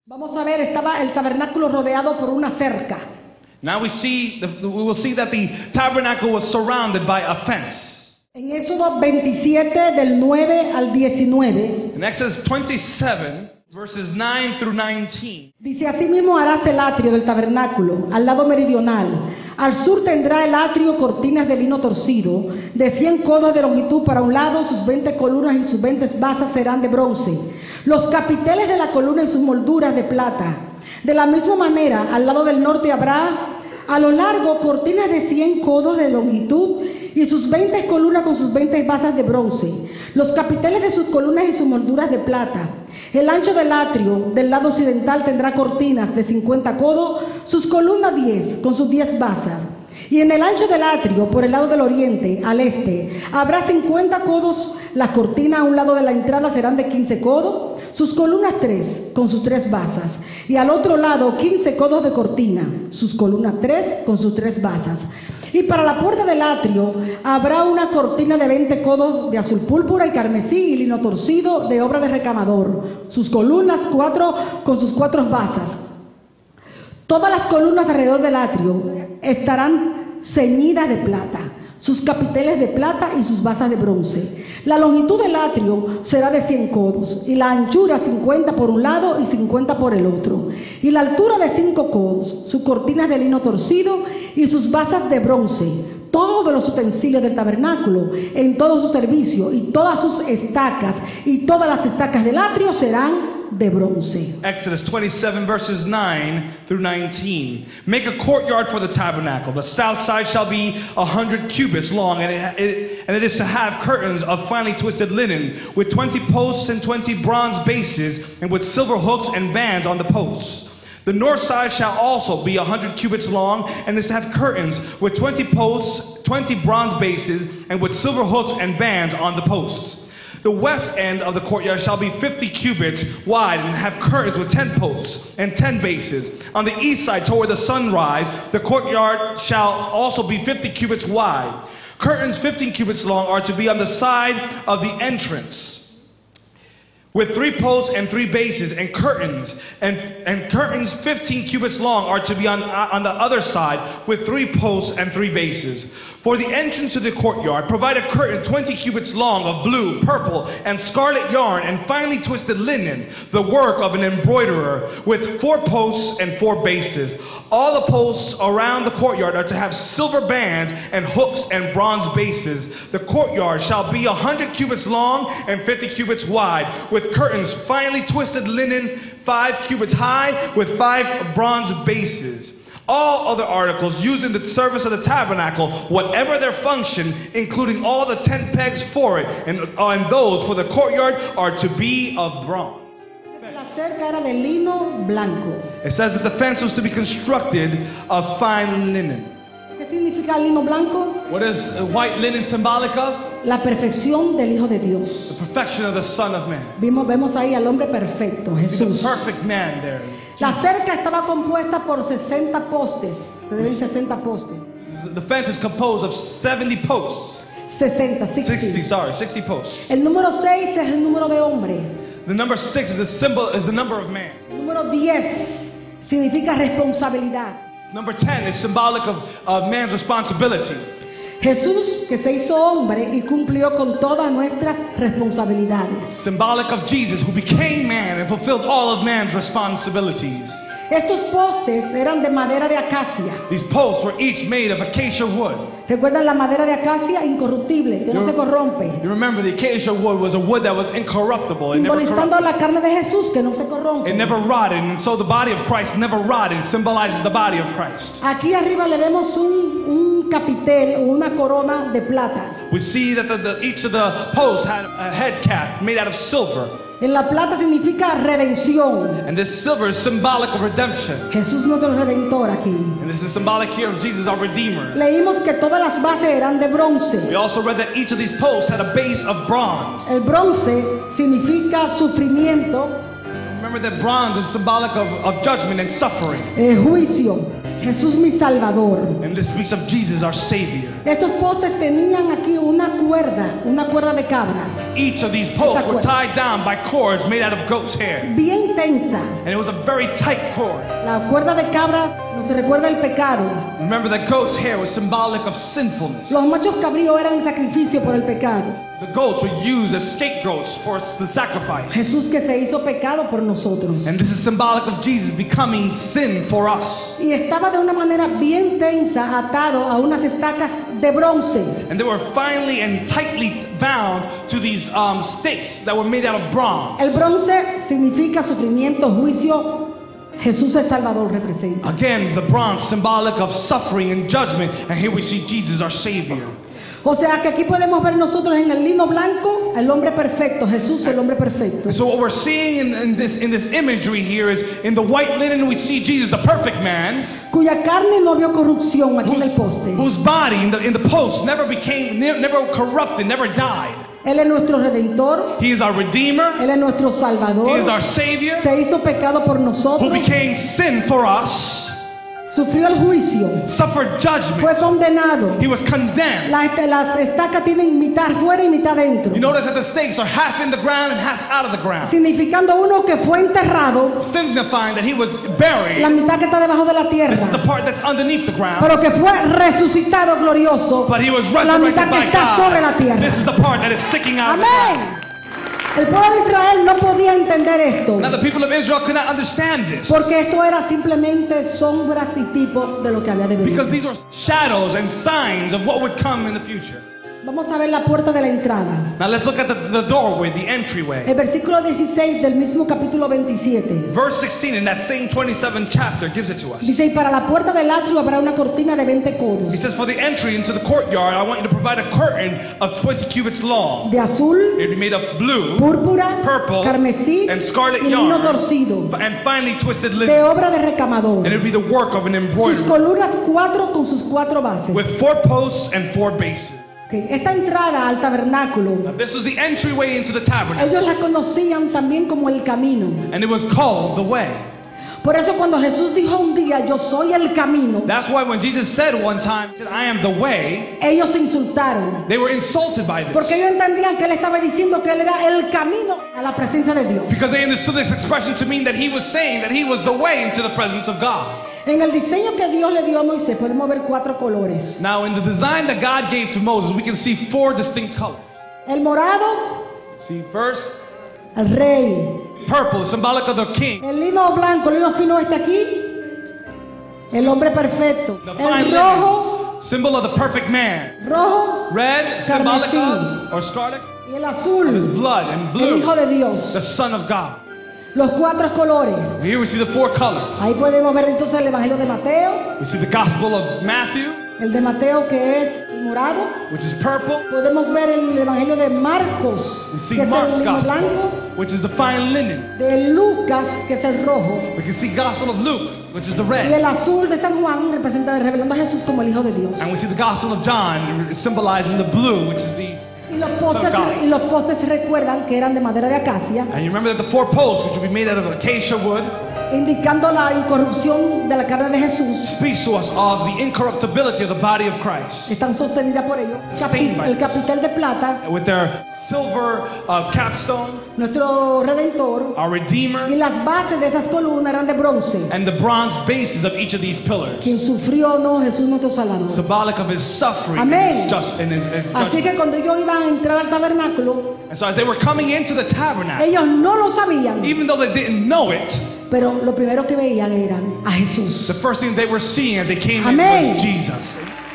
Vamos a ver, estaba el tabernáculo rodeado por una cerca. Now we will see that the tabernacle was surrounded by a fence. En Éxodo 27 del 9 al 19. In Exodus 27, verses 9 through 19. Dice: asimismo harás el atrio del tabernáculo al lado meridional. Al sur tendrá el atrio cortinas de lino torcido, de 100 codos de longitud para un lado, sus 20 columnas y sus 20 basas serán de bronce. Los capiteles de la columna y sus molduras de plata. De la misma manera, al lado del norte habrá a lo largo cortinas de 100 codos de longitud y sus 20 columnas con sus 20 basas de bronce. Los capiteles de sus columnas y sus molduras de plata. El ancho del atrio del lado occidental tendrá cortinas de 50 codos, sus columnas 10 con sus 10 basas. Y en el ancho del atrio, por el lado del oriente, al este, habrá 50 codos. Las cortinas a un lado de la entrada serán de 15 codos, sus columnas 3 con sus 3 basas. Y al otro lado 15 codos de cortina, sus columnas 3 con sus 3 basas. Y para la puerta del atrio habrá una cortina de 20 codos de azul púrpura y carmesí y lino torcido de obra de recamador, sus columnas 4 con sus 4 basas. Todas las columnas alrededor del atrio estarán ceñidas de plata, sus capiteles de plata y sus basas de bronce. La longitud del atrio será de 100 codos y la anchura 50 por un lado y 50 por el otro. Y la altura de 5 codos, sus cortinas de lino torcido y sus basas de bronce. Todos los utensilios del tabernáculo en todo su servicio y todas sus estacas y todas las estacas del atrio serán de bronce. Exodus 27 verses 9 through 19. Make a courtyard for the tabernacle. The south side shall be 100 cubits long, and it is to have curtains of finely twisted linen, with 20 posts and 20 bronze bases, and with silver hooks and bands on the posts. The north side shall also be 100 cubits long, and is to have curtains with 20 posts, 20 bronze bases, and with silver hooks and bands on the posts. The west end of the courtyard shall be 50 cubits wide and have curtains with 10 posts and 10 bases. On the east side toward the sunrise, the courtyard shall also be 50 cubits wide. Curtains 15 cubits long are to be on the side of the entrance, with 3 posts and 3 bases, and curtains 15 cubits long are to be on the other side, with 3 posts and 3 bases. For the entrance to the courtyard, provide a curtain 20 cubits long of blue, purple, and scarlet yarn, and finely twisted linen, the work of an embroiderer, with 4 posts and 4 bases. All the posts around the courtyard are to have silver bands and hooks and bronze bases. The courtyard shall be 100 cubits long and 50 cubits wide, with curtains finely twisted linen 5 cubits high, with 5 bronze bases. All other articles used in the service of the tabernacle, whatever their function, including all the tent pegs for it and those for the courtyard, are to be of bronze. La cerca era de lino blanco. It says that the fence was to be constructed of fine linen. ¿Qué significa lino blanco? What is white linen symbolic of? La perfección del Hijo de Dios. The perfection of the Son of Man. Vemos ahí al hombre perfecto, Jesús. The perfect man there. La cerca estaba compuesta por 60 postes. Se deben 60 postes. The fence is composed of 70 posts. 60 posts. El número 6 es el número de hombre. The number 6 is the number of man. El número 10 significa responsabilidad. Number 10 is symbolic of man's responsibility. Jesús, que se hizo hombre y cumplió con todas nuestras responsabilidades. Symbolic of Jesus, who became man and fulfilled all of man's responsibilities. Estos postes eran de madera de acacia. These posts were each made of acacia wood. ¿Recuerdan la madera de acacia? Incorruptible, que no se corrompe. You remember the acacia wood was a wood that was incorruptible. Simbolizando la carne de Jesús, que no se corrompe. It never rotted, and so the body of Christ never rotted. It symbolizes the body of Christ. Aquí arriba le vemos un capitel o una corona de plata. We see that each of the posts had a head cap made out of silver. En la plata significa redención. And this silver is symbolic of redemption. Jesús nuestro redentor aquí. And this is symbolic here of Jesus, our Redeemer. Leímos que todas las bases eran de bronce. We also read that each of these posts had a base of bronze. El bronce significa sufrimiento. Remember that bronze is symbolic of judgment and suffering. Juicio. Jesús mi Salvador. And this speaks of Jesus, our Savior. Estos postes tenían aquí una cuerda de cabra. Each of these posts were tied down by cords made out of goat's hair. Bien tensa. And it was a very tight cord. La cuerda de cabra nos recuerda el pecado. Remember that goat's hair was symbolic of sinfulness. Los machos cabríos eran el sacrificio por el pecado. The goats were used as scapegoats for the sacrifice. Jesús que se hizo pecado por nosotros. And this is symbolic of Jesus becoming sin for us. Y estaba de una manera bien tensa atado a unas estacas de bronce. And they were finely and tightly bound to these stakes that were made out of bronze. El bronce significa sufrimiento, juicio. Jesús el Salvador representa. Again, the bronze symbolic of suffering and judgment. And here we see Jesus our Savior. O sea que aquí podemos ver nosotros en el lino blanco el hombre perfecto, Jesús el hombre perfecto. And so what we're seeing in this imagery here is in the white linen we see Jesus, the perfect man, cuya carne no vio corrupción aquí en el poste. whose body in the post never corrupted, never died. Él es nuestro redentor. He is our redeemer. Él es nuestro salvador. He is our savior. Se hizo pecado por Who nosotros. became sin for us. Sufrió el juicio. Suffered judgment. Fue condenado. He was condemned. Las estacas tienen mitad fuera y mitad dentro. You notice that the stakes are half in the ground and half out of the ground, Significando uno que fue enterrado, signifying that he was buried. la mitad que está debajo de la tierra, This is the part that's underneath the ground. pero que fue resucitado glorioso, But he was la resurrected mitad que by está sobre la God. tierra. This is the part that is sticking out of the ground. Amén. El pueblo de Israel no podía entender esto, Now the people of Israel could not understand this porque esto era simplemente sombras y tipo de lo que había de venir. because these were shadows and signs of what would come in the future. Vamos a ver la puerta de la entrada. Now let's look at the doorway, the entryway. El versículo 16 del mismo capítulo 27. Verse 16 in that same 27th chapter gives it to us. Dice, y para la puerta del atrio habrá una cortina de 20 codos, He says, for the entry into the courtyard, I want you to provide a curtain of 20 cubits long. de azul, It would be made of blue, púrpura, purple, carmesí and scarlet y lino yarn, torcido, and finely twisted de linen. obra de recamador. And it would be the work of an Sus embroidery columnas 4 con sus 4 bases. with 4 posts and 4 bases. Ok, esta entrada al tabernáculo, Now, this was the entryway into the tabernacle, ellos la conocían también como el camino. and it was called the way. Por eso cuando Jesús dijo un día, yo soy el camino, That's why when Jesus said one time, he said, I am the way, ellos se insultaron. they were insulted by Porque this. ellos entendían que él estaba diciendo que él era el camino a la presencia de Dios. Because they understood this expression to mean that he was saying that he was the way into the presence of God. En el diseño que Dios le dio a Moisés podemos ver 4 colores. Now, in the design that God gave to Moses, we can see 4 distinct colors. El morado, See, first, el rey. purple is symbolic of the king. El lino blanco, el lino fino está aquí. El hombre perfecto. The El fine rojo, linen, symbol of the perfect man. rojo Red, symbolic Carmesí. of, or scarlet, y el of azul, his blood. And el blue, Hijo de the Dios. Son of God. Los 4 colores. Here we see the 4 colors. Ahí podemos ver entonces el Evangelio de Mateo. We see the Gospel of Matthew, El de Mateo que es morado. which is purple. Podemos ver el Evangelio de Marcos, We see que es el Mark's lino Gospel, blanco. which is the fine linen. De Lucas, que es el rojo. We can see Gospel of Luke, which is the Y red. el azul de San Juan representa revelando a Jesús como el Hijo de Dios. And we see the Gospel of John symbolizing the blue, which is the... Y los postes recuerdan que eran de madera de acacia, And you remember that the 4 posts, which would be made out of acacia wood, indicando la incorrupción de la carne de Jesús. speaks to us of the incorruptibility of the body of Christ. Están sostenidas por ellos. El capitel de plata, With their silver capstone, nuestro Redentor. our Redeemer, Y las bases de esas columnas eran de bronce. and the bronze bases of each of these pillars, Quien sufrió, no, Jesús nuestro Salvador. symbolic of his suffering Amén. and his Así que judgment. cuando ellos iban a entrar al tabernáculo, And so as they were coming into the tabernacle, ellos no lo sabían, even though they didn't know it, pero lo primero que veían era a the Jesús. first thing they were seeing as they came in Amén. was Jesus.